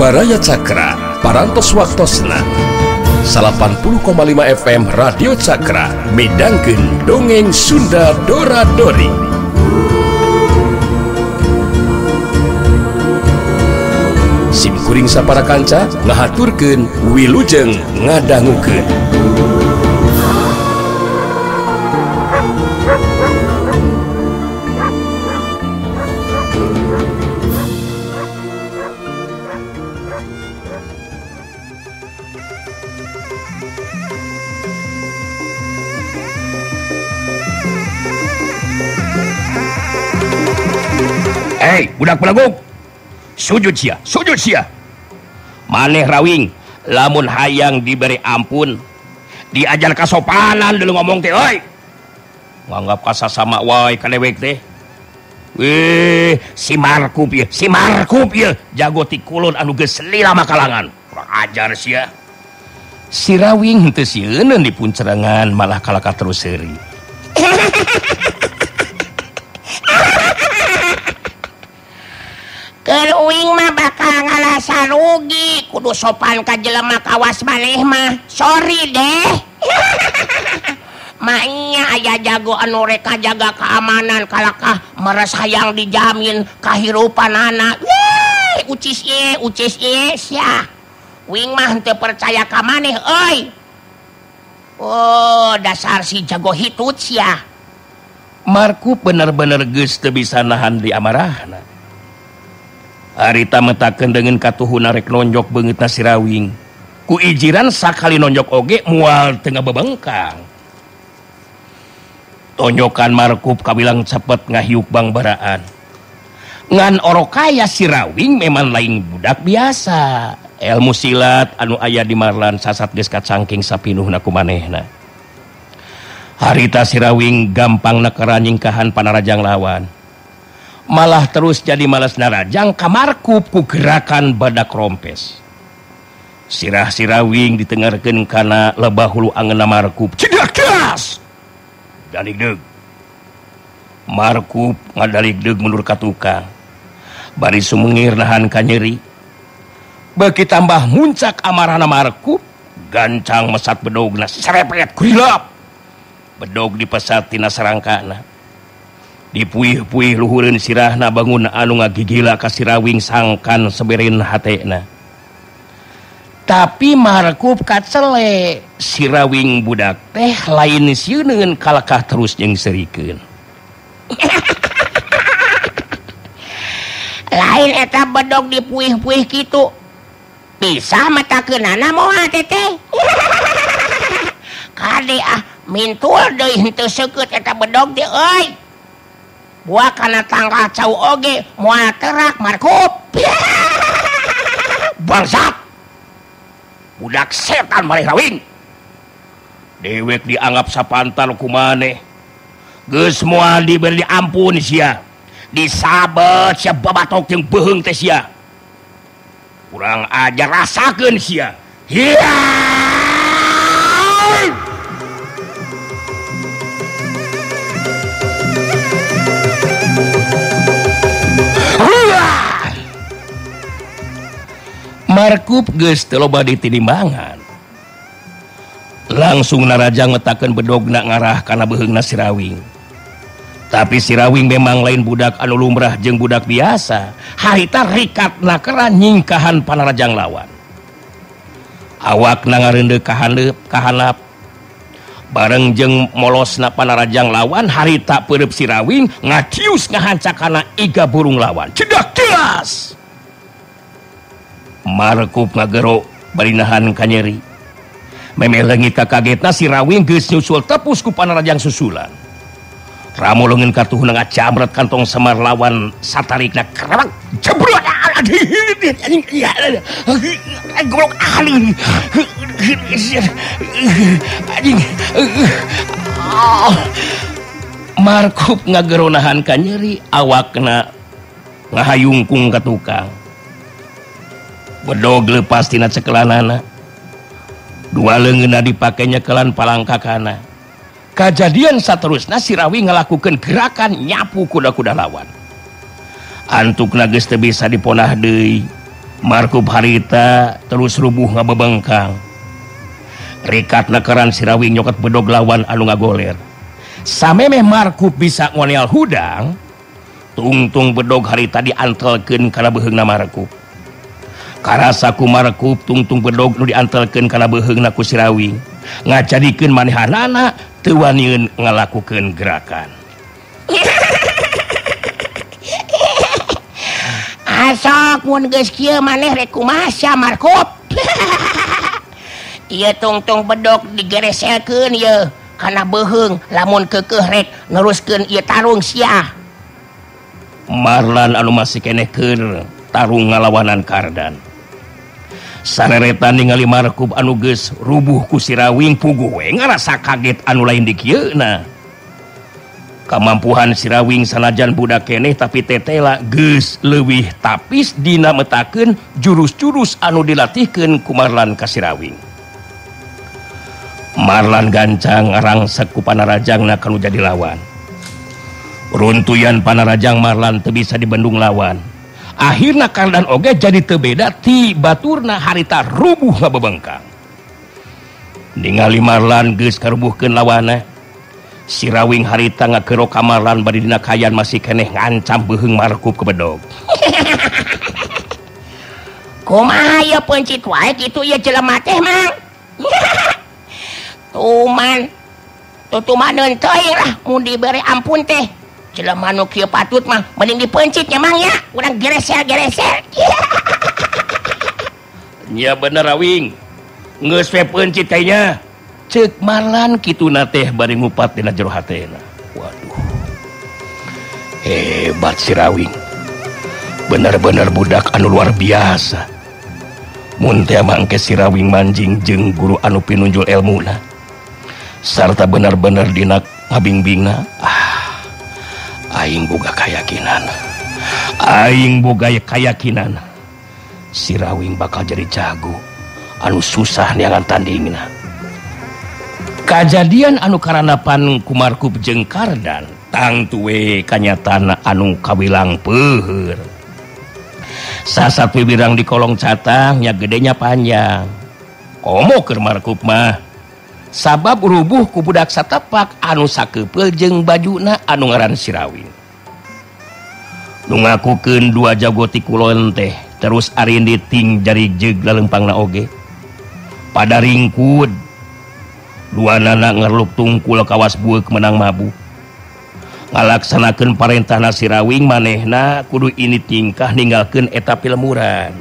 Baraya Cakra parantos waktosna 80,5 FM Radio Cakra midangkeun dongeng Sunda Dora-Dori. Simkuring sapara kanca ngahaturkeun wilujeng ngadangukeun. Hei, budak pelaguk, sujud sia. Maneh rawing, lamun hayang diberi ampun, diajar kasopanan dulu ngomong teh, oi. Nganggap kasasama wae kadewek teh. Wih, si Markup ya, jago ti kulon anu geus lila makalangan. Kurang ajar sia. Si rawing henteu sieun dipun cerengan malah kalaka terus seuri. Uing mah bakal ngalasa rugi, kudu sopan ka jelema kawas maneh mah. Sorry deh. Maknya aya jago anu reka jaga keamanan kalakah meres hayang dijamin kahirupanana. Yeay, ucis ieu sia. Uing mah henteu percaya ka maneh euy. Oh, dasar si jago hitut sia. Markup bener-bener geus teu bisa nahan di amarahna. Harita metakeun dengan katuhuna rek nonjok beungeutna si rawing. Ku ijiran sakali nonjok oge moal teu ngabebengkang. Tonjokan Markup kabilang cepet ngahiuk bangbaraan. Ngan orokaya si rawing memang lain budak biasa. Ilmu silat anu aya di marlan sasat geus kacangking sapinuhna ku manehna. Harita si rawing gampang nakera nyingkahan panarajang lawan. Malah terus jadi malas narajang ka Markup ku gerakan badak rompes. Sirah si rawing ditengarkeun kana lebah hulu angeunna Markup. Cedak das. Daligdeug. Markup ngadaligdeug mundur ka tukang. Bari sumengir nahan ka nyeri. Beuki tambah muncak amarahna Markup, gancang mesat bedogna serepet kurilap. Bedog dipesat tina sarangkana. Dipuih-puih luhureun sirahna bangun anu ngagigila ka si rawing sangkan seberin hatena. Tapi Markup kacele, si rawing budak teh lain sieun kalakah terus jeung serikeun. Lain eta bedog dipuih-puih kitu. Bisa matakeunana moal teteh. Kade mintul deui henteu seukeut eta bedog teh euy. Buah kana tangkal cau oge moal terak Markup. Bangsat. Budak setan maneh rawing. Dewek dianggap sapantar ku maneh. Geus moal diberi ampun sia. Disabet sia babatok jeung beuheung teh sia. Kurang ajar rasakeun sia. Hiya! Markup geus teu loba ditinimbangan. Langsung narajang metakeun bedogna ngarah kana beuheungna si rawing. Tapi si rawing memang lain budak anu lumrah jeung budak biasa. Harita rikatna kera nyingkahan panarajang lawan. Awakna ngareundeuh ka handap. Bareng jeung molosna panarajang lawan, harita peureup si rawing ngacius ngahancakana iga burung lawan. Cedak jelas. Markup ngagero bari nahan ka nyeri. Memeh leungit ka kagetna si rawing geus nyusul tepus ku panarajang susulan. Ramo leungeun katuhna ngacamret kantong semar lawan satarikna kerebak jebrot anjing. Goblok anjing. Markup ngagero nahan ka nyeri, awakna ngahayungkung ka tukang. Bedog leupas tina cekelanana. Dua leungeunna dipake nyekelan palangkakana. Kajadian saterusna si Rawi ngalakukeun gerakan nyapu kuda-kuda lawan. Antukna geus teu bisa diponah deui. Markup harita terus rubuh ngabebengkang. Rikat nakeran Sirawing nyoket bedog lawan anu ngagoler. Samemeh Markup bisa ngoneal hudang, tungtung bedog harita diantelkeun kana beheungna Markup. Karasa ku Markup tungtung bedog nu diantelkeun kana beheungna ku Sirawing, ngajadikeun manehanana teu waniun ngalakukeun gerakan. Asok mun geus kieu maneh rek kumaha sia Markup? Ieu tungtung bedog digereselkeun ieu kana beheung lamun keukeuh rek neruskeun ieu tarung sia. Marlan anu masih keneh keur tarung ngalawanan Kardan. Sareretan ningali Markup anu geus rubuh ku Sirawing puguh we ngarasa kaget anu lain di kieuna. Kamampuhan Sirawing sanajan budak keneh tapi tetela geus leuwih tapis dina metakeun jurus-jurus anu dilatihkeun ku Marlan ka Sirawing. Marlan gancang ngarangsek ku panarajangna kanu jadi lawan. Runtuyan panarajang Marlan teu bisa dibendung lawan. Akhirna Kardan oge jadi teu beda ti baturna harita rubuh ngabebengkang. Ningali Marlan geus karubuhkeun lawanna, Sirawing harita ngakeuro ka Marlan bari dina kayan masih keneh ngancam beheung Markup ke bedog. Kumaha ieu pencit wae kitu ieu jelema teh mang. Tuman tutumaneun teuing lah mun dibere ampun teh. Jelema nu kieu patut mah mending dipencit nya mang nya, urang geresel-geresel. Nya bener Rawing. Geus we pencit kaynya. Ceuk Marlan kituna teh bari ngupat dina jero hatena. Waduh. Hebat si Rawing. Bener-bener budak anu luar biasa. Mun teh mangke si Rawing manjing jeung guru anu pinunjul elmuna. Sarta bener-bener dina ngabingbingna. Aing boga keyakinan si Rawing bakal jadi jago anu susah niangan tandingna. Kajadian anu karanapan ku Markup jeung Kardan tangtu we kanyatana anu kawilang peuheur. Sasat wirang di kolong catang nya gedenya panjang. Komo keur Markup mah sabab rubuh ku budak satepak anu sakeupeu jeung bajuna anu ngaran Sirawing. Nu ngakukeun dua jago ti kulon teh terus arindi ting jari jeug lalempangna oge. Pada ringkud duanana ngerluk tungkul kawas bueuk menang mabuk. Ngalaksanakeun parentahna Sirawing manehna kudu ini tingkah ninggalkeun eta pilemuran.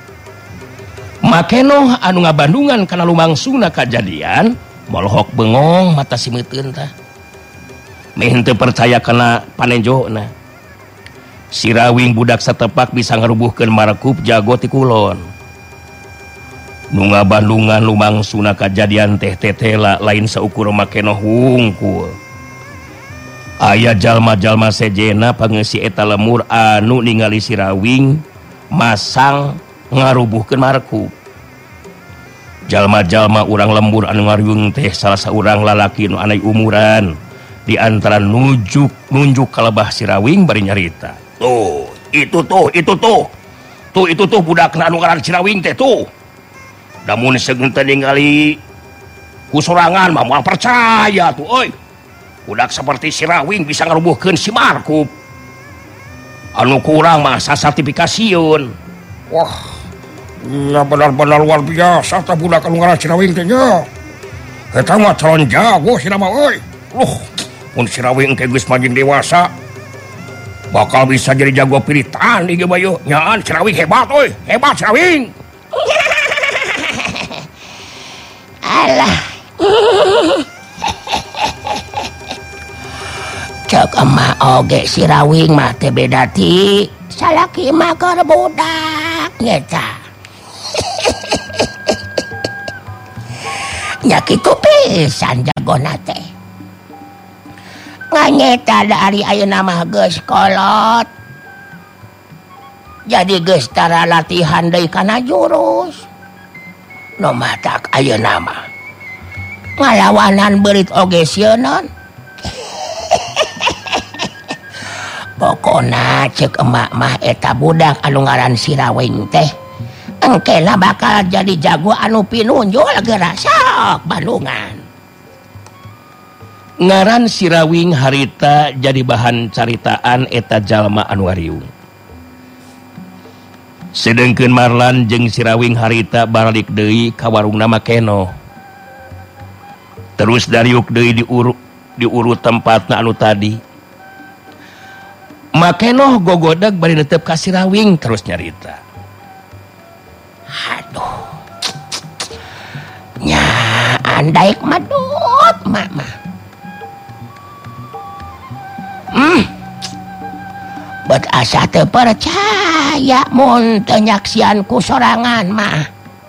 Makenoh anu ngabandungan kana lumangsungna kajadian molohok bengong mata simeuteun tah. Meh teu percaya kana panenjona. Sirawing budak satepak bisa ngarubuhkeun Markup jago ti kulon. Nu ngabandungan lumangsungna kajadian teh tetela lain saukur makenoh wungkul. Aya jalma-jalma sejena pangeussi eta lemur anu ningali Sirawing masang ngarubuhkeun Markup. Jalma-jalma urang lembur anu ngariung teh salah saurang lalaki nu anai umuran di antara nunjuk kalebah Sirawing bari nyarita. Itu tuh budakna anu ngaran Sirawing teh tuh. Damun seunteun teh ningali ku sorangan mah moal percaya tuh euy. Budak seperti Sirawing bisa ngarubuhkeun si Markup. Anu kurang mah sasertifikasieun. Wah, ya benar-benar luar biasa tah budak anu ngaran Sirawing teh nya. Eta mah calon jago cenah mah euy. Mun Sirawing engke geus manjing dewasa bakal bisa jadi jago piritan ieu bayu. Nyaan Sirawing hebat euy, hebat Sirawing. Alah. Cek emak oge Sirawing mah teh beda ti salaki mah keur budak nyata. Nya kitu pisan jagona teh. Nganyeta dari ayeuna mah geus kolot. Jadi geus tara latihan deui kana jurus. Nu matak ayeuna mah ngalawanan beurit oge sieun. Pokona cek emak mah eta budak anu ngaran Sirawing teh engkena bakal jadi jago anu pinunjul geura sok Bandungan. Ngaran Sirawing harita jadi bahan caritaan eta jalma anu wariung. Sedengkeun Marlan jeung Sirawing harita balik deui ka warungna Makeno. Terus dariuk deui diurut tempatna anu tadi. Makeno gogodeg bari netep ka Sirawing terus nyarita. Aduh. Nya andaik madut mama. Bet asa teu percaya mun teu nyaksian ku sorangan mah.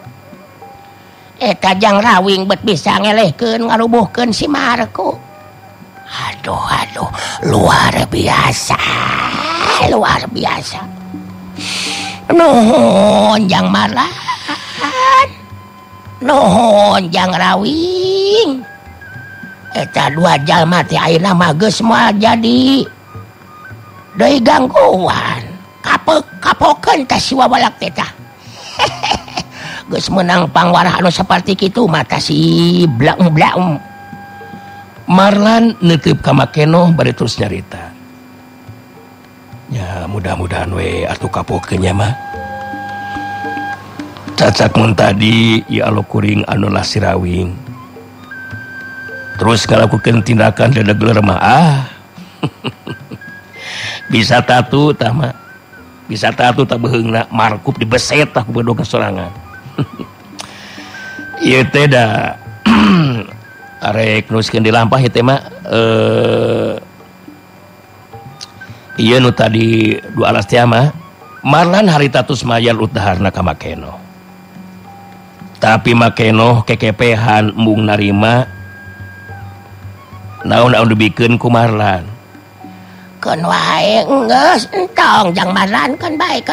Eta Jang Rawing bet bisa ngelehkeun ngarubuhkeun si Marku. Aduh, luar biasa. Nuhun Jang Marlan. Nuhun Jang Rawing. Eta dua jalma teh ayeuna mah geus moal jadi deui gangguan. Kapokeun teh si wabalak teh tah. Geus meunang pangwarah anu saperti kitu mah tah si blaung. Marlan neuteup ka Makeno bari terus nyarita. Ya mudah-mudahan we atuh kapokeun nya mah. Cacak mun tadi ya Allah kuring anu lah Sirawing. Terus ngalakukeun tindakan dedegler mah bisa tatu tah mah. Bisa tatu tah beheungna markup dibeset tah ku bodoh sorangan. Ieu teh da arek nuskeun di lampah ieu teh mah ieu nu tadi dua alas teh mah Marlan harita tus mayar utaharna ka Makeno. Tapi Makeno kekepehan mung narima naon dibikeun ku Marlan. Keun wae geus entong Jang Marlan keun bae.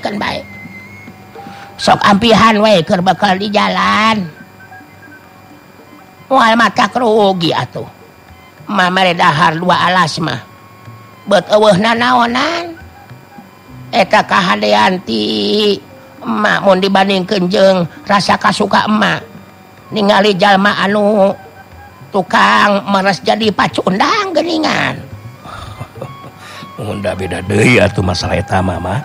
Sok ampihan we keur bakal di jalan. Moal matak rugi atuh. Mamere dahar dua alas mah. Bet eueuhna naonan. Eta kahadean ti emak mun dibandingkeun jeung rasa kasuka emak. Ningali jalma anu tukang meres jadi pacundang geuningan. Mun da beda deui atuh masalah eta mah.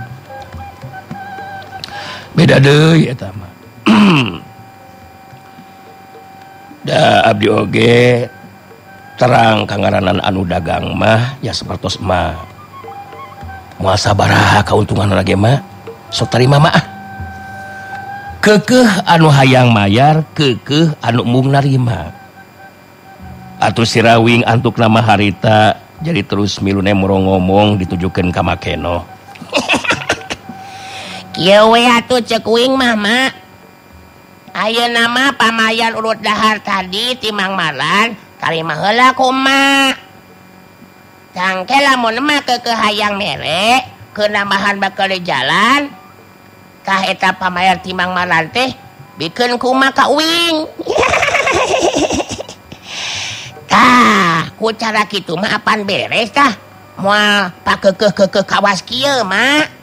Beda deui eta mah. Da abdi oge terang kangaranan anu dagang mah ya sapertos mah. Moal sabaraha kauntungan lagi mah sok tarima mah. Keukeuh anu hayang mayar, keukeuh anu mung narima. Atuh Sirawing antuk nama harita jadi terus milune murong ngomong ditujukeun ka Makeno. Kieu we atuh ceuk uing mah mak. Ayeuna mah pamayan urut dahar tadi ti Mang Marlan karima heula ku emak. Tangke lamun emak keukeuh hayang mere keun nambahan bakal di jalan tah eta pamayar ti Mang Marlan teh bikeun ku emak ka uing. Tah, ku cara kitu mah apan beres tah. Moal pakeukeuh kawas kieu mak.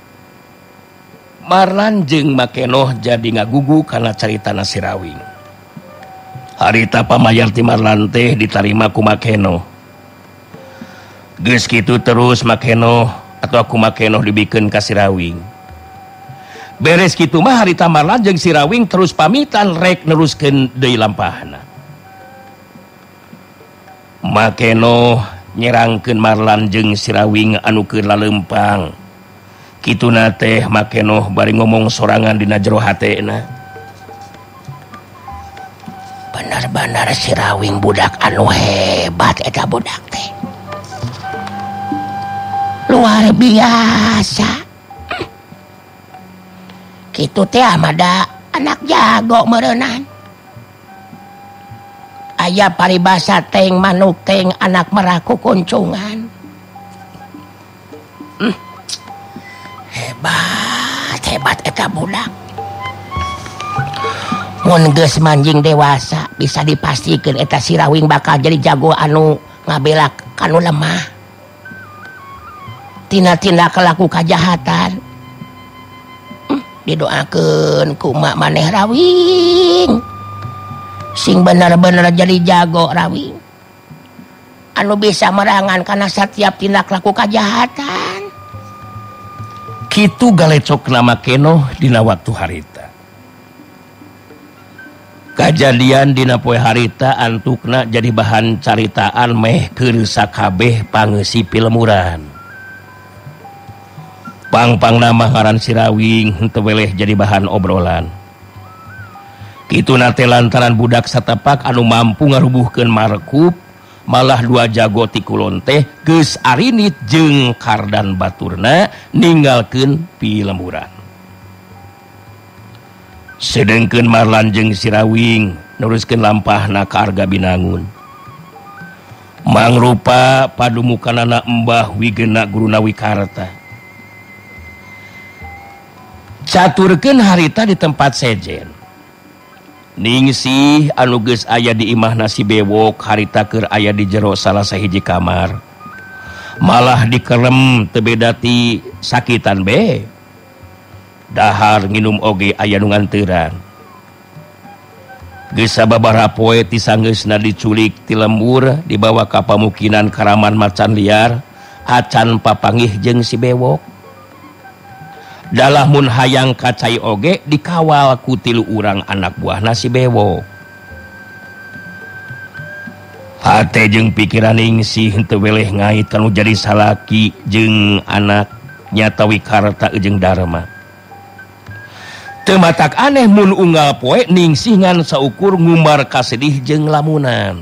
Marlan jeung Makeno jadi ngagugu kana caritana Sirawing. Harita pamayar ti Marlan teh ditarima ku Makeno. Geus kitu terus Makeno atau ku Makeno dibikeun ka Sirawing. Beres kitu mah harita Marlan jeung Sirawing terus pamitan rek neruskeun deui lampahna. Makeno nyerangkeun Marlan jeung Sirawing anu keur laleumpang. Kituna teh Makeno bari ngomong sorangan dina jero hatena. Benar-benar Sirawing budak anu hebat eta budak teh. Luar biasa. Kitu teh amada anak jago meureunnan. Aya paribasa teng manuk teng anak meraku kuncungan. Hebat eta budak. Mun geus manjing dewasa bisa dipastikeun eta Sirawing bakal jadi jago anu ngabela kanu lemah. Tina tindak laku kajahatan. didoakeun ku mak maneh Rawing sing bener-bener jadi jago Rawing anu bisa merangan karena setiap tindak laku kejahatan kitu galecok nama keno dina waktu harita kejadian dina poe harita antukna jadi bahan caritaan meh keur sakabeh pangeusi pilemuran pang nama ngaran si Rawing henteu weleh jadi bahan obrolan. Kitu nate lantaran budak satepak anu mampu ngarubuhkeun markup, malah dua jago ti kulon teh geus arinit jeung kardan baturna ninggalkeun pilemuran. Sedengkeun Marlan jeung si Rawing neruskeun lampahna ka Arga Binangun. Mangrupa padumukanana Embah Wigena Guruna Wikarta. Caturkeun harita di tempat sejen Ningsih anu geus aya di imahna si bewok harita keur aya di jero salah sahiji kamar malah dikerem teu beda ti sakitan be dahar nginum oge aya nu nganteuran geus sababaraha poe ti sanggeusna diculik ti lembur dibawa ka pamukinan Karaman Macan Liar acan papanggih jeung si bewok dalah mun hayang kacai oge dikawal ku 3 urang anak buahna si bewok. Hate jeung pikiran Ningsih henteu weleh ngait kanu jadi salaki jeung anak nyata Wikarta jeung Darma. Teu matak aneh mun unggal poe Ningsih ngan saukur ngumbar kasedih jeung lamunan.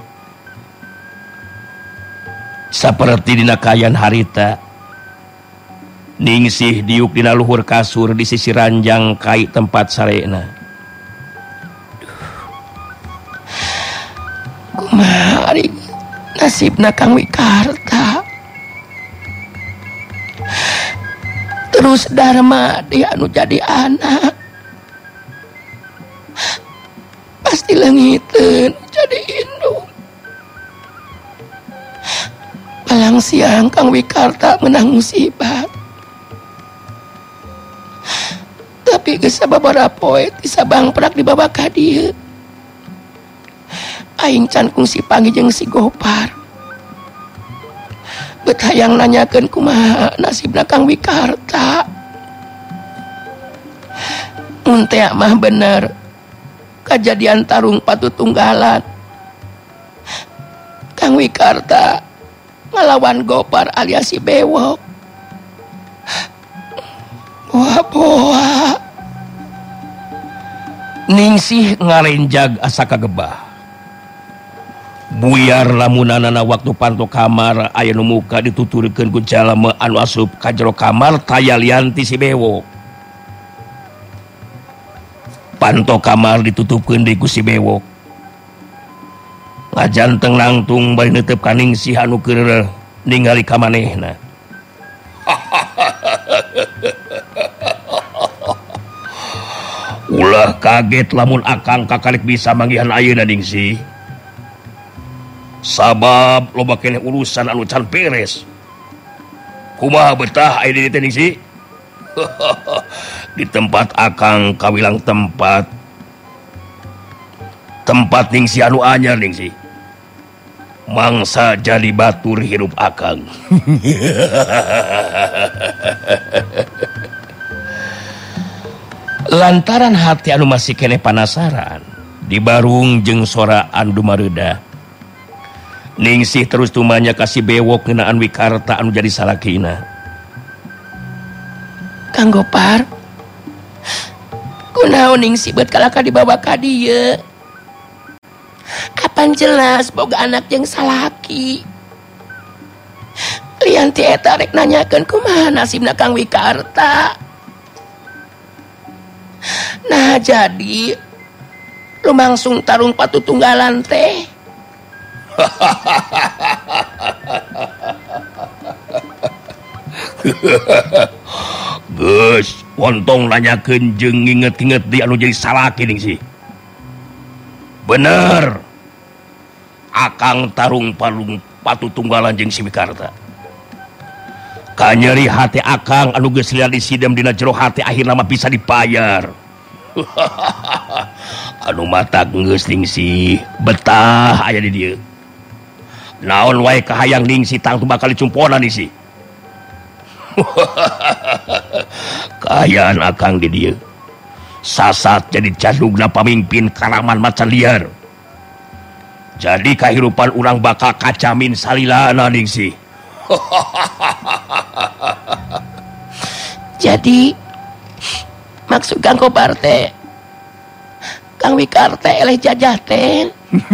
Saperti dina kayan harita Ningsih diuk dina luhur kasur di sisi ranjang kai tempat sarena. Kumaha ari nasibna Kang Wikarta. Terus Darma dia anu jadi anak. Pasti leungiteun jadi indung. Palang siang Kang Wikarta menang musibah. Tapi geus sababaraha poe ti Sabang perak dibawa ka dieu. Aing can kungsi panggih jeung si Gopar. Bet hayang nanyakeun kumaha nasibna Kang Wikarta. Mun teh mah bener kejadian tarung patutunggalan. Kang Wikarta ngelawan Gopar alias si Bewok. Boa-boa. Ningsih ngarenjag asa kagebah. Buyar lamunanana waktu panto kamar aya nu muka dituturkeun ku jalema anu asup ka jero kamar tayalian ti si Bewok. Panto kamar ditutupkeun deui ku si Bewok. Ngajanteng langtung bari neuteup ka Ningsih anu keur ningali ka manehna. Ulah kaget lamun akang kakalik bisa manggihan ayeuna Ningsih. Sabab loba keneh urusan anu can beres. Kumaha betah aya di dieu Ningsih? Di tempat akang kawilang tempat Ningsih anu anyar Ningsih. Mangsa jadi batur hirup akang. Lantaran hati anu masih kene panasaran dibarung jeung sora anu dumareuda Ningsih terus tumanya ka si Bewok ngeunaan Wikarta anu jadi salakina. Kang Gopar, kunaon Ningsih beut kalaka dibawa ka dieu? Kapan jelas boga anak jeung salaki. Lian ti eta rek nanyakeun kumaha nasibna Kang Wikarta. Nah jadi lumangsung tarung patutunggalan teh. Geus wontong nanyakeun jeung nginget-inget di anu jadi salaki Ningsih. Bener akang tarung patutunggalan jeung si Wikarta. nyeri hati akang anu geus liar disidem dina jero hati akhirna mah bisa dibayar. Anu mata geus Ningsih betah aya di dieu. Naon wae kahayang Ningsih tang tu bakal dicumpona Ningsih. Kaayaan akang di dieu sasat jadi jadugna pamimpin karaman macan liar. Jadi kahirupan urang bakal kacamin salilana Ningsih. Jadi maksud Kang Kobar teh Kang Wikar teh eleh jajah teh.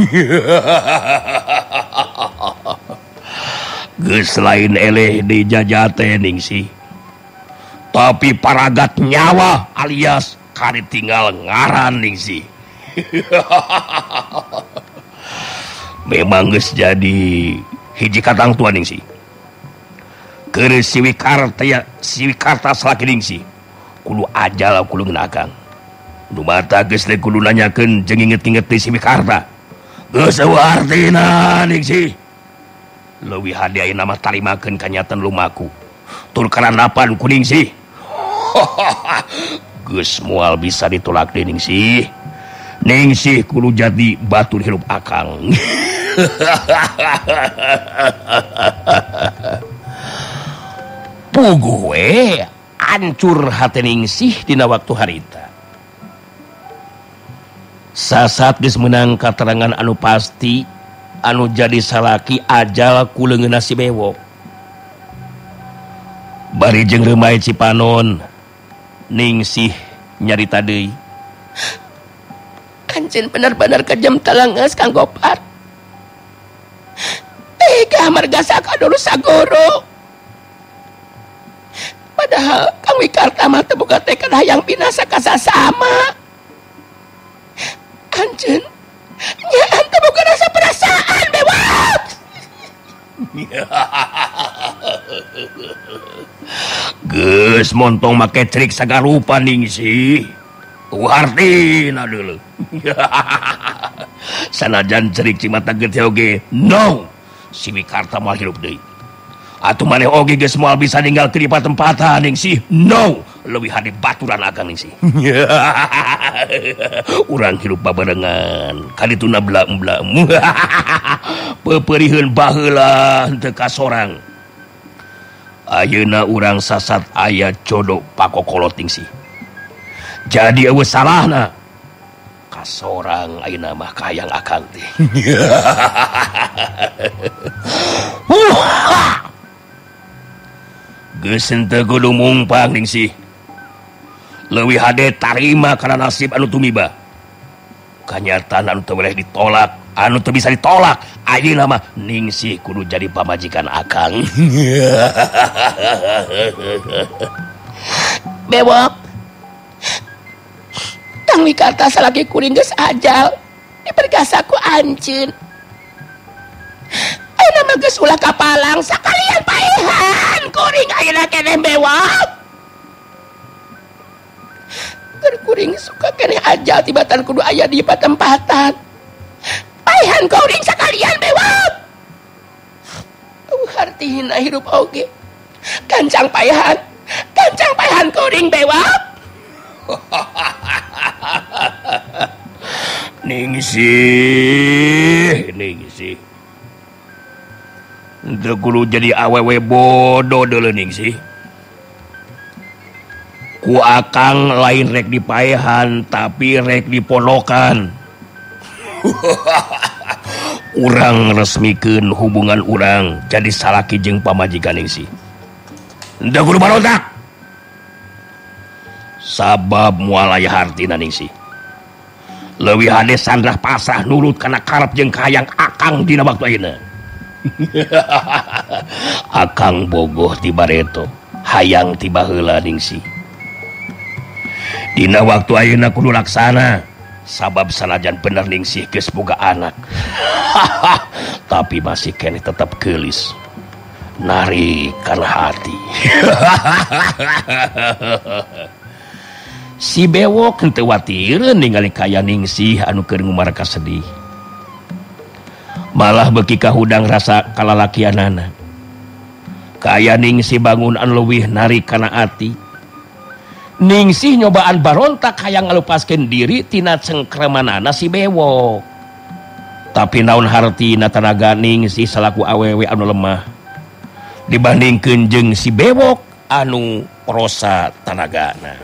Geus lain eleh di jajah teh Ningsih. Tapi paragat nyawa alias kari tinggal ngaran Ningsih. Memang geus jadi hiji katang tua Ningsih. Keur Siwikarta salaki Ningsih kudu ajal kudu ngeunakang. Nu mata geus teh kudu nanyakeun jeung inget-inget ti Siwikarta. Geus eueuh artina Ningsih. Leuwih hade ayeuna mah tarimakeun kanyatan lumaku. Tur karanapan ku Ningsih. Geus moal bisa ditolak deui Ningsih. Ningsih kudu jadi batur hirup akang. Puguh we hancur hati Ningsih dina waktu harita. Sasat geus meunang katerangan anu pasti anu jadi salaki ajal ku leungeunna si bewok. Bari jeung remai Cipanon Ningsih nyarita deui. Anjeun bener-bener kejam talangeus Kang Gopar. Tega marga sakadoro sagoro. Padahal Kang Wikarta mah teu boga tekad hayang binasa ka sasama. Anjeun nyaan teu boga rasa perasaan bewak. Geus montong make trik sagarupa Ningsih. Wartina deuleu. Sanajan cerik cimata getih oge, no. Siwikarta moal hirup deui. Atuh maneh oge geus moal bisa ninggal di tempatan Ningsih. No, leuwih hade baturan akang Ningsih. Urang hirup babarengan, kadituna blam-blam. Pepeurieun baheula henteu ka sorang. Ayeuna urang sasat aya jodoh pakokolot Ningsih. Jadi eueuh salahna ka sorang ayeuna mah kahayang akang teh. Geus henteu kudu mumpang Ningsih. Leuwih hade tarima kana nasib anu tumiba. Kanyataan anu teu boleh ditolak, anu teu bisa ditolak. Ayeuna mah Ningsih kudu jadi pamajikan akang. Bewok. Kang Wikarta salaki kuring geus ajal. Dipergasa ku anjeun. Ayeuna mah geus ulah kapalang sakalian paehan kuring ayeuna keneh bewok. Keur kuring suka keneh ajal tibatan kudu aya di patempatan. Paehan kuring sakalian bewok. Hartihina hirup oge. Kancang paehan kuring bewok. Ningsih. Teu kudu jadi awewe bodoh deuleu Ningsih. Ku akang lain rek dipaehan tapi rek diponokan. Urang resmikeun hubungan urang jadi salaki jeung pamajikan Ningsih. Teu kudu barontak. Sabab moal aya hartina Ningsih. Leuwih hade sandrah pasrah nurut kana karep jeung kahayang akang dina waktu ayeuna. Akang bogoh ti bareto, hayang ti baheula Ningsih. Dina waktu ayeuna kudu laksana, sabab sanajan bener Ningsih geus boga anak. Tapi masih keneh tetep geulis. Nari kana hati. Si bewok henteu watireun ningali kaya Ningsih anu keur ngumarka sedih. Malah beuki ka hudang rasa kalalakianana. kaya Ningsih bangun an leuwih narik kana ati. Ningsih nyobaan barontak hayang ngalupaskeun diri tina cengkremanana si bewok. Tapi naon hartina tanaga Ningsih salaku awewe anu lemah dibandingkeun jeung si bewok anu prosa tanagana.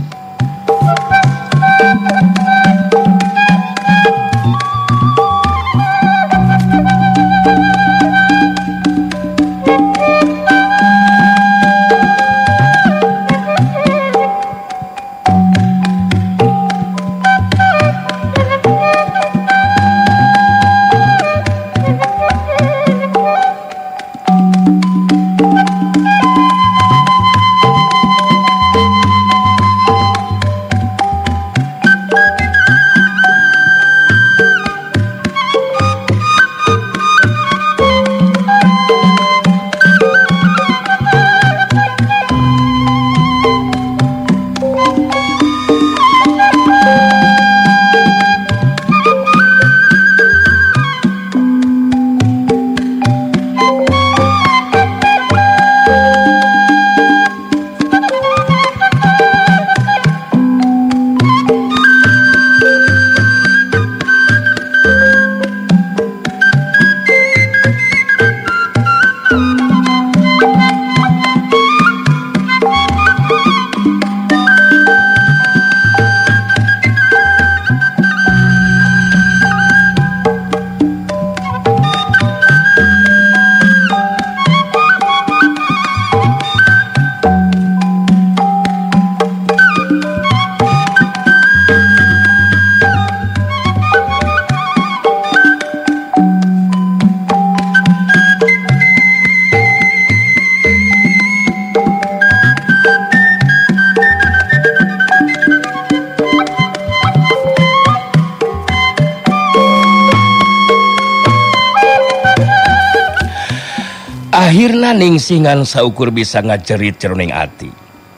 Akhirna Ningsingan saukur bisa ngacerit ceruning ati.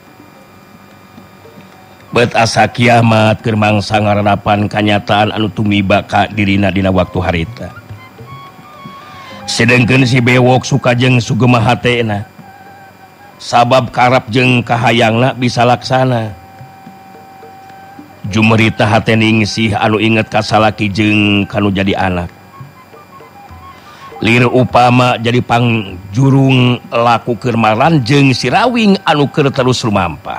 Bet asa kiamat keur mangsa ngaranapan kanyataan anu tumiba ka dirina dina waktu harita. Sedengkeun si bewok suka jeung sugema hatena. Sabab karap jeung kahayangna bisa laksana. Jumerita hate Ningsih anu inget ka salaki jeung kanu jadi anak. Lir upama jadi pangjurung laku keur Marlan jeung si Rawing anu keur terus lumampah.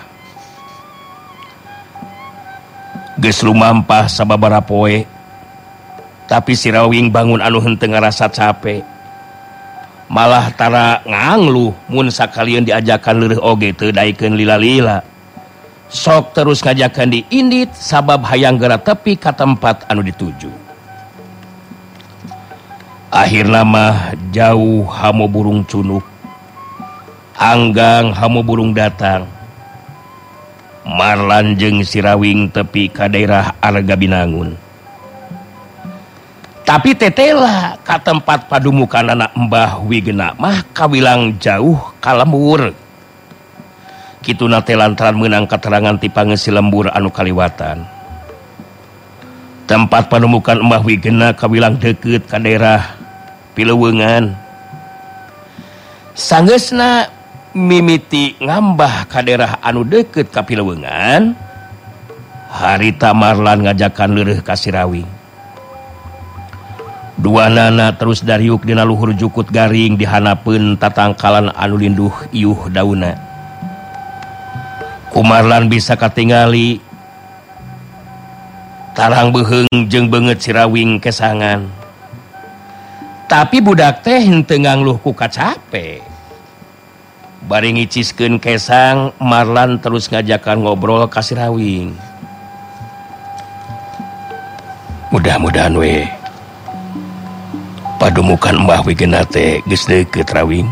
Geus lumampah sababaraha poe, tapi si Rawing bangun anu henteu ngarasa capek. Malah tara ngangluh mun sakalian diajakan leureuk oge teu daekeun lila-lila. Sok terus ngajakan diindit sabab hayang geura tepi ka tempat anu dituju. Akhirna mah jauh hamo burung cunuk, hanggang hamo burung datang. Marlan jeung si Rawing tepi ka daerah Arga Binangun. Tapi tetela ka tempat padumukan anak Mbah Wigena mah kawilang jauh ka lembur. Kituna teh lantaran meunang katerangan ti pangeus lembur anu kaliwatan. Tempat padumukan Mbah Wigena kawilang deukeut ka daerah Pileuweungan. Sanggeusna mimiti ngambah ka daerah anu deukeut ka Pileuweungan, harita Marlan ngajakan leureuk ka si Rawing. Duanana terus dariuk dina luhur jukut garing dihanapeun tatangkalan anu linduh iuh daunna. Ku Marlan bisa katingali tarang beuheung jeung beungeut si Rawing kesangan. Tapi budak teh henteu ngangluh ku kacape. Bari ngiciskeun kesang, Marlan terus ngajakan ngobrol ka si Rawing. Mudah-mudahan we padumukan Mbah Wigena teh geus deukeut Rawing.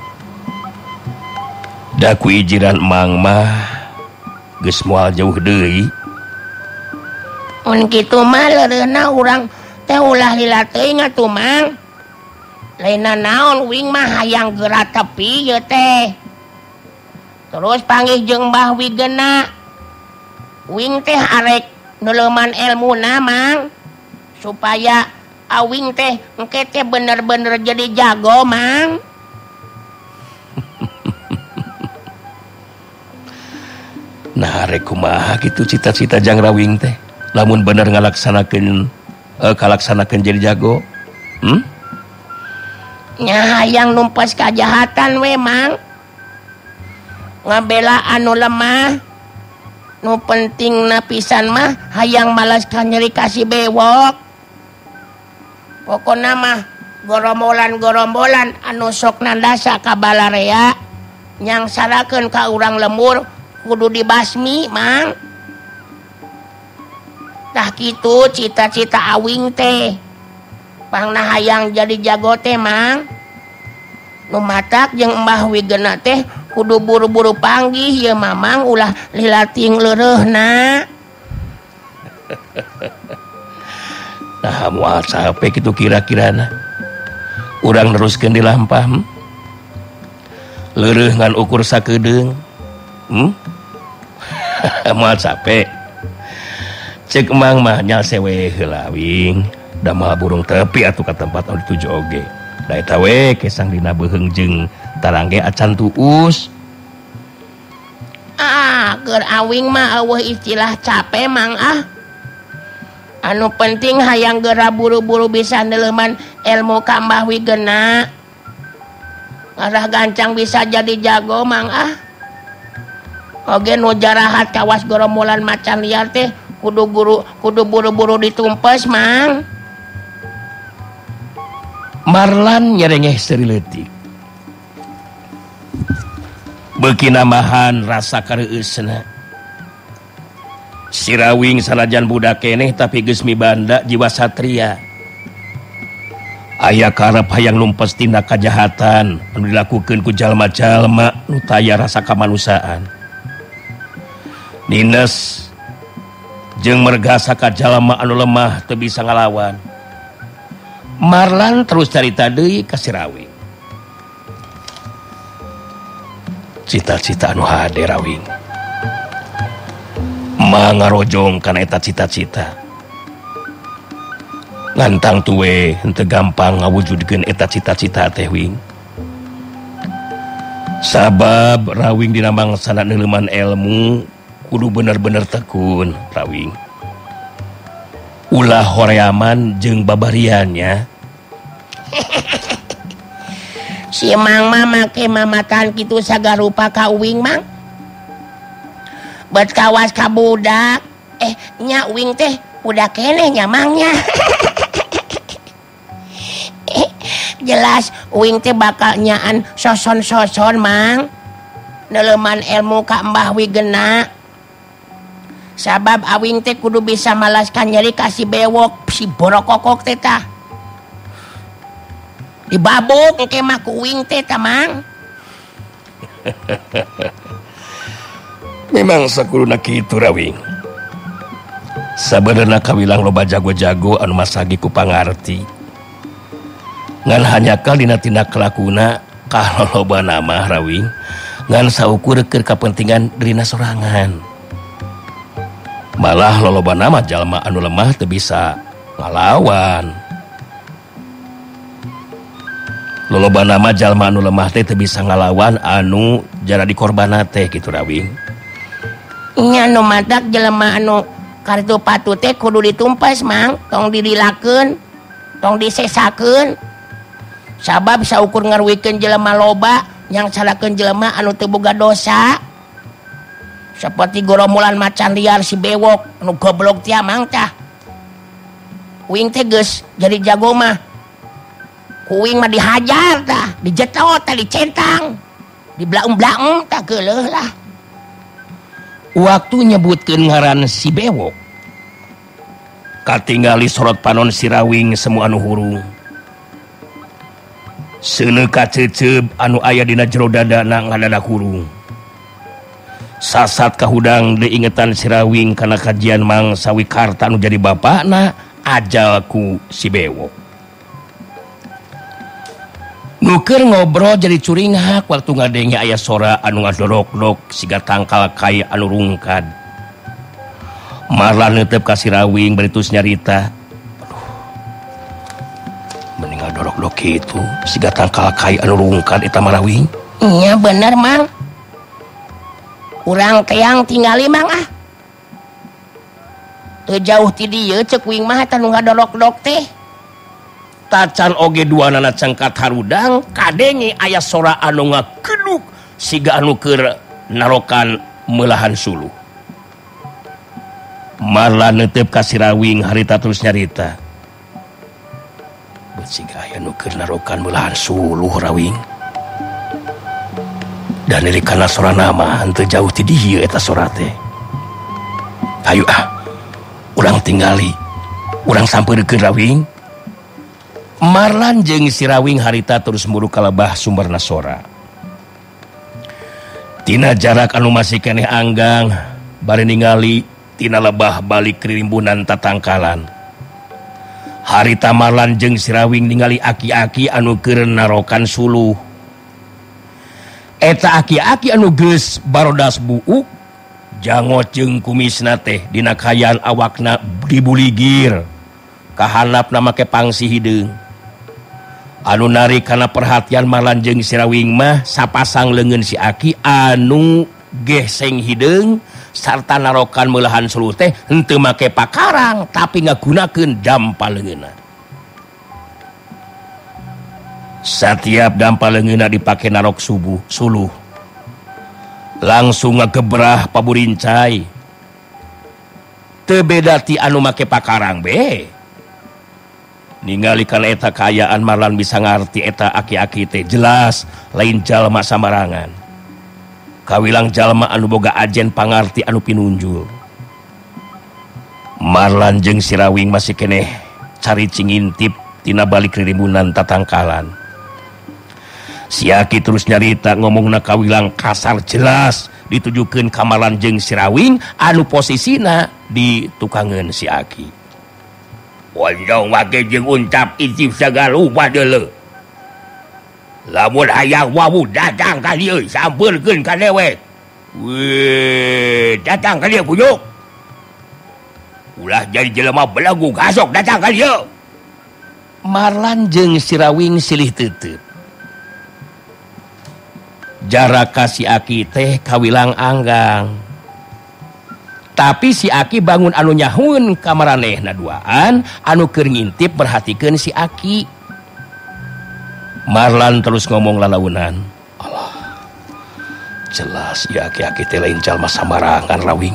Da ku ijiran Mang mah geus moal jauh deui. Mun kitu mah leureunna urang teh ulah lila teuing atuh Mang. Lainna naon Wing mah hayang geura tepi ieu teh. Terus panggih jeung Mbah Wigena. Wing teh arek nuleuman elmuna Mang. Supaya Awing teh engke teh bener-bener jadi jago Mang. Nah kumaha gitu cita-cita Jang Rawing teh lamun bener ngalaksanakeun jadi jago nya hayang numpas kajahatan we mang ngabela anu lemah nu penting na pisan mah hayang malaskan nyeri kasih bewok pokona mah gorombolan anu sok nandasa ka balarea nyang sarakeun ka urang lembur kudu dibasmi mang tah kitu cita-cita awing teh pangna hayang jadi jago teh mang nu matak jeung Mbah Wigena teh kudu buru-buru panggih ya mamang ulah lilating leureuna nah moal sape kitu kira-kirana urang neruskeun di lampah leureuh ngan ukur sakedeung moal sape cek emang mah nya sewe heula wing da moal burung tepi atuh ka tempat anu dituju oge da eta we kesang dina beuheung jeung tarangge acan tuus keur awing mah eueuh istilah capek mang anu penting hayang geura buru-buru bisa neuleuman ilmu ka Mbah Wigena ngarah gancang bisa jadi jago mang oge nu jarahat kawas gorombolan macan liar teh kudu buru-buru ditumpes mang Marlan nyerengeh seriletik beuki namahan rasa kareueusna si Rawing sanajan budak keneh tapi geus mibanda jiwa satria aya karep hayang numpes tindak kajahatan anu dilakukeun ku jalma-jalma nu taya rasa kamanusaan nines jeung mergasa ka jalma anu lemah teu bisa ngalawan Marlan terus carita deui ka si Rawing cita-cita anu hade Rawing mangarojong kana eta cita-cita ngantang tuwe henteu gampang ngawujudkeun eta cita-cita teh wing sabab Rawing dina mangsana neuleuman ilmu kudu bener-bener tekun Rawing ulah horeaman jeung babariannya si mang mah make mamatan kitu sagarupa ka uwing mang bet kawas ka budak nya uwing teh budak keneh nya mangnya jelas uwing teh bakal nyaan soson-soson mang neuleuman ilmu ka Mbah Wigena sabab awing teh kudu bisa malaskan nyeri kasih bewok si borokokok teh tah dibabuk engke mah ku uwing teh tah mang memang sakuluna kitu Rawing sabenerna kawilang loba jago-jago anu masagi ku pangarti ngan hanyakal dina tindak kelakuna kalolobana mah Rawing ngan saukur keur kapentingan dirina sorangan malah lolobana mah jalma anu lemah teu bisa ngalawan lolobana mah jalma anu lemah teh teu bisa ngalawan anu jara dikorbanna teh kitu Rawing nya nu matak jelema anu kartu patu teh kudu ditumpas mang tong dirilakeun tong disesakeun sabab saukur ngaruwikeun jelema loba yang salakeun jelema anu teu boga dosa seperti gorombolan macan liar si bewok anu goblok teh mang tah uing teh geus jadi jago mah uing mah dihajar tah dijetot tah dicentang diblaung-blaung tah geuleuh lah waktu nyebutkeun ngaran si bewok katingali sorot panon si Rawing semu anu hurung seuneu kaceuceub anu aya dina jero dadana ngadadak hurung sasat kahudang diingetan si Rawing kana kajian Mang Sawikarta anu jadi bapakna ajal ku si bewok nuker ngobrol jadi curinghak waktu ngadenge aya sora anu ngadorok-dok siga tangkal kai anu rungkad Marlan neuteup ka si Rawing baritus nyarita mending ngadorok-dok kitu siga tangkal kai anu rungkad eta mah Rawing iya bener mang urang teang tinggali mang teu jauh ti dieu ceuk wing mah eta nu ngadorok-dok teh. Tacan oge duanana cengkat harudang kadenge aya sora anu ngakeduk siga anu keur narokan meulahan suluh. Marlan neuteup ka si Rawing harita terus nyarita. Bet siga aya nu keur narokan meulahan suluh Rawing. Dan dari kana sora nama henteu jauh ti dieu eta sora teh. Hayu urang tinggali, urang sampeurkeun Rawing. Marlan jeung si Rawing harita terus muru ka lebah sumberna sora. Tina jarak anu masih keneh anggang, bari ningali tina lebah balik ririmbunan tatangkalan. Harita Marlan jeung si Rawing ningali aki-aki anu keur narokan suluh. Eta aki-aki anu geus barodas buuk, jangot jeung kumisna teh dina kayan awakna dibuligir. Kahanapna make pangsi hideung. Anu narik kana perhatian Marlan jeung si Rawing mah sapasang leungeun si aki anu geseng hideung sarta narokan meulahan suluh teh henteu make pakarang tapi ngagunakeun dampal leungeunna. Satiap dampal leungeunna dipake narok suluh. Langsung ngagebrah paburincai. Teu beda ti anu make pakarang be. Ningali kana eta kaayaan Marlan bisa ngarti eta aki-aki teh jelas lain jalma samarangan. Kawilang jalma anu boga ajen pangarti anu pinunjul. Marlan jeung si Rawing masih keneh caricing ngintip tina balik ririmbunan tatangkalan. Si aki terus nyarita ngomongna kawilang kasar jelas ditujukeun ka Marlan jeung si Rawing anu posisina di tukangeun si aki. Wajong wake jeung uncap icip sagalupa deuleu. Lamun hayang wawu datang ka dieu sampeurkeun ka dewek. Weh, datang ka dieu punyuk. Ulah jadi jelema belagu gasok datang ka dieu. Marlan jeung si Rawing silih teuteut. Jarak ka si aki teh kawilang anggang. Tapi si aki bangun anu nyahun ka maranehna duaan anu keur ngintip perhatikeun si aki. Marlan terus ngomong lalaunan. Allah, jelas si aki-aki teh lain jalma samarangan Rawing.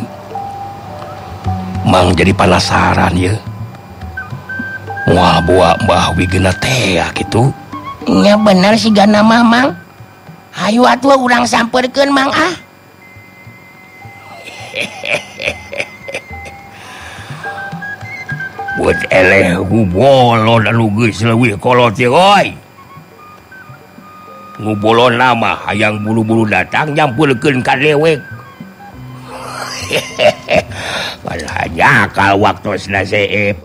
Mang jadi penasaran ye. Moal boa Mbah Wigena teh kitu. Nya bener si gana Mang. Hayu atuh urang sampeurkeun Mang Buat eleh ngubolo dan geus leuwih kolot ye oi. Ngubolo nama hayang bulu-bulu datang nyampulkeun ka dewek. Malah kal waktosna seep.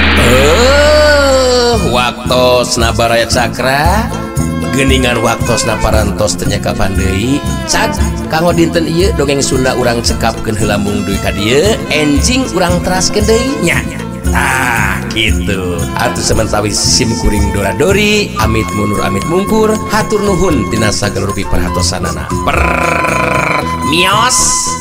Waktosna Baraya Cakra. Geningan waktosna parantos teu nya kapan deui. Cak kanggo dinten ieu dongeng Sunda urang cekapkeun heula mung duy ka dieu, enjing urang teraskeun deui nya. Tah gitu. Atuh sementawis sim kuring dora-dori, amit mundur amit mungkur, hatur nuhun tina sageluruh piparatosanana. Mios.